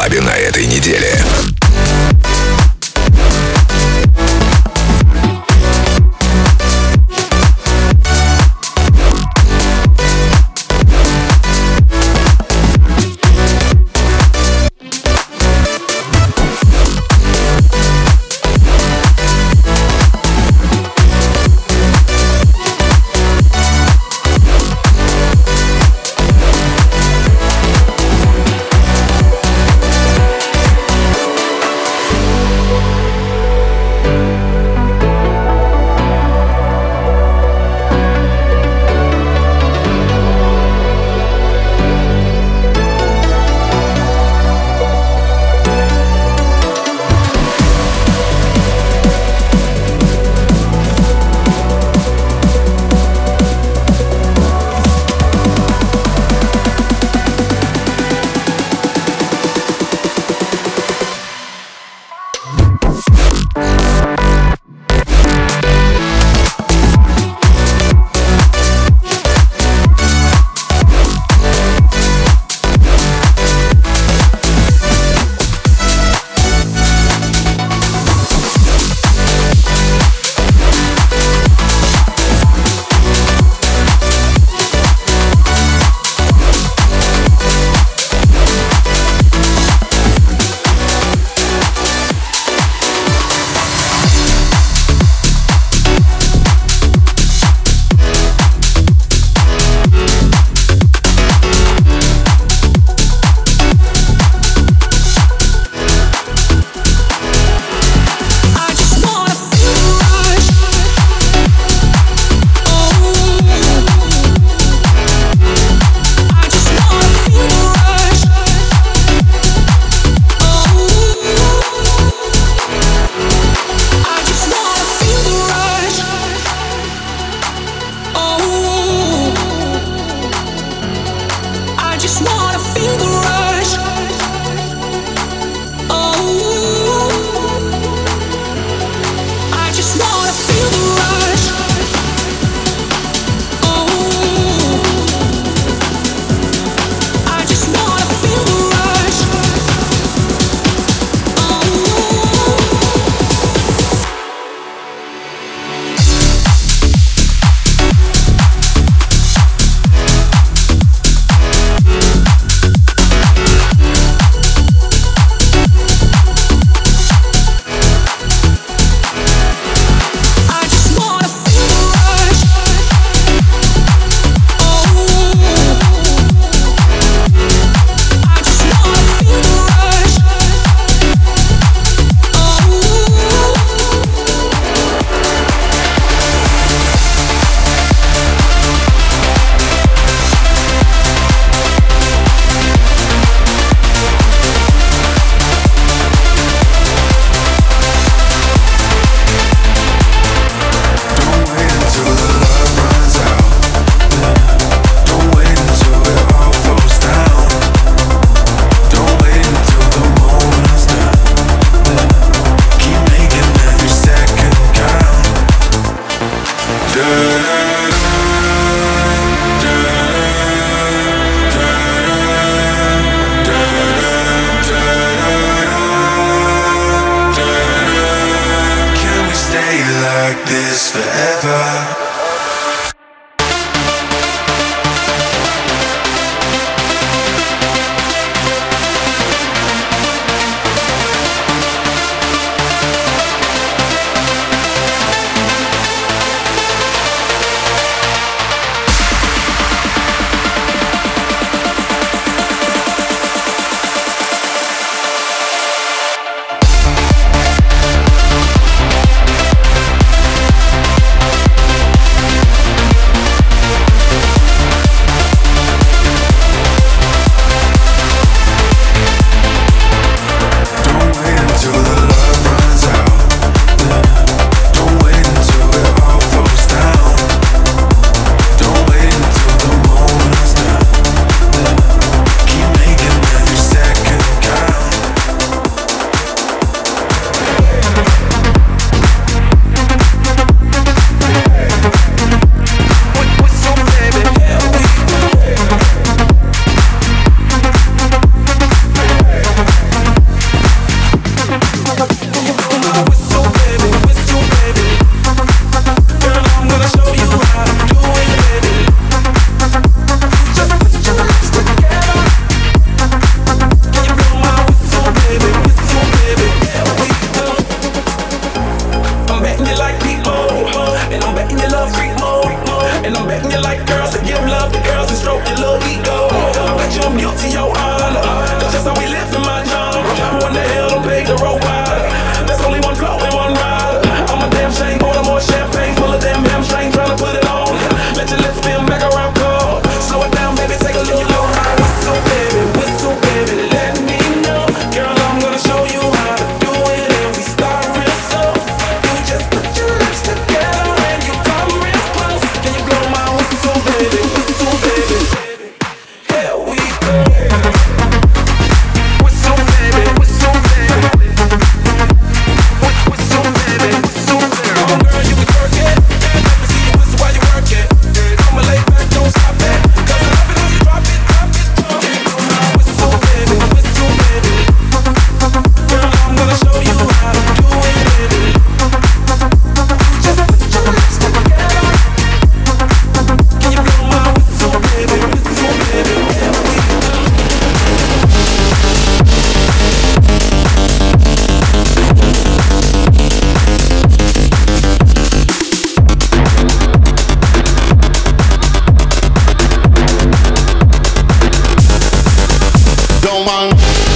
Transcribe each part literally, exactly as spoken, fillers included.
клабе на этой неделе. Yo, man.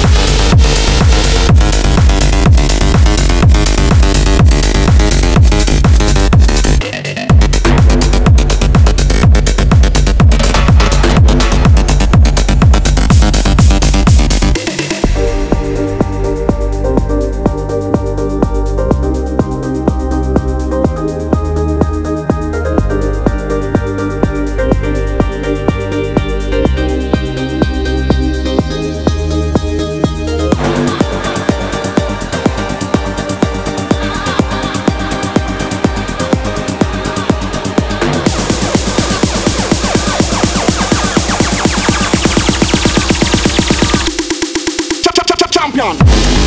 Champion.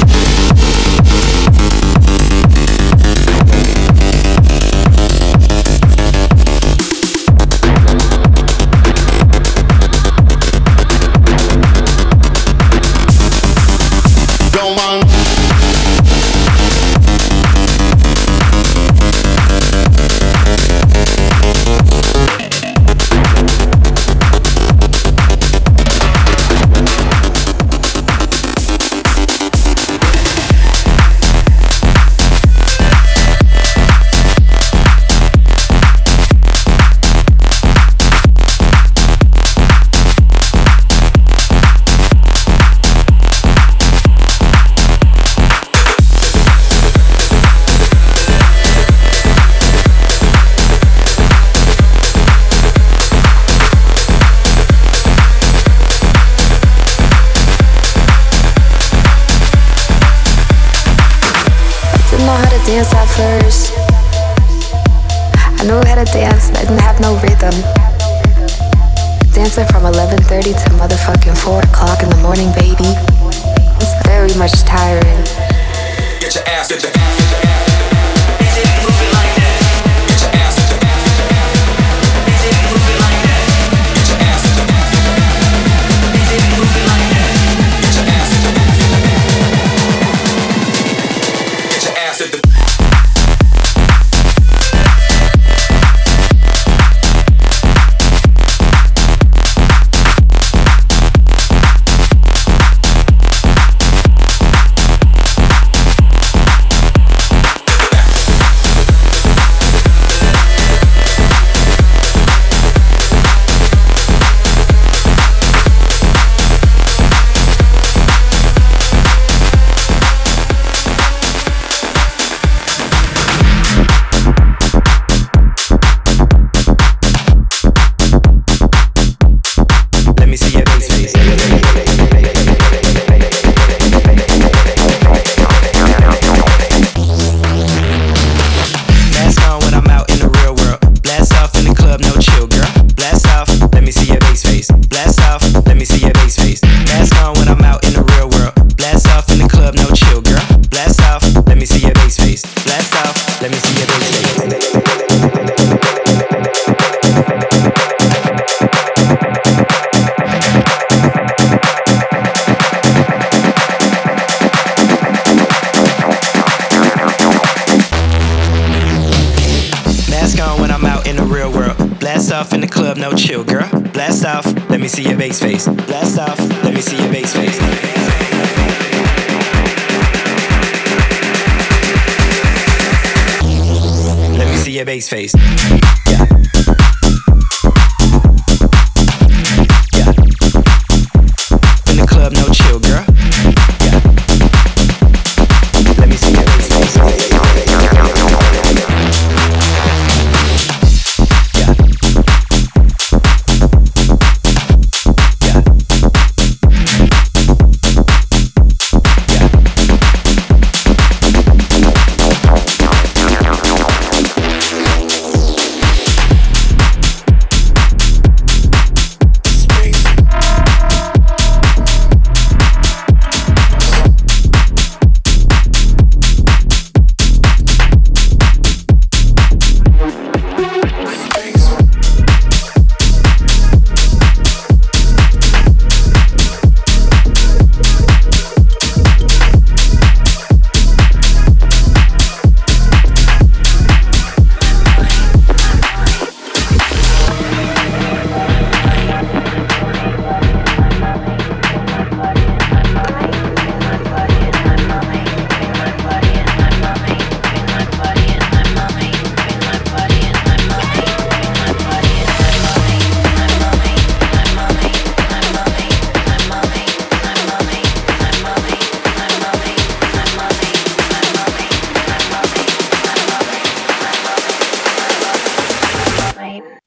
Yo, man. Dance at first. I knew how to dance, but I didn't have no rhythm. Dancing from eleven thirty to motherfucking four o'clock in the morning, baby. It's very much tiring. Get your ass, get your ass, get your ass. Is it moving like that? Get your ass, get your ass, get your ass. Is it moving like that? Get your ass, get your ass, get your ass. Is it moving like that? Get your ass, get your ass, get your ass. Get your ass, get the no chill, girl. Blast off, let me see your bass face. Blast off, let me see your bass face. Let me see your bass face. Yeah. Yeah. In the club, no chill, girl. Yeah. Let me see your bass face.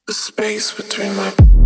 The space between my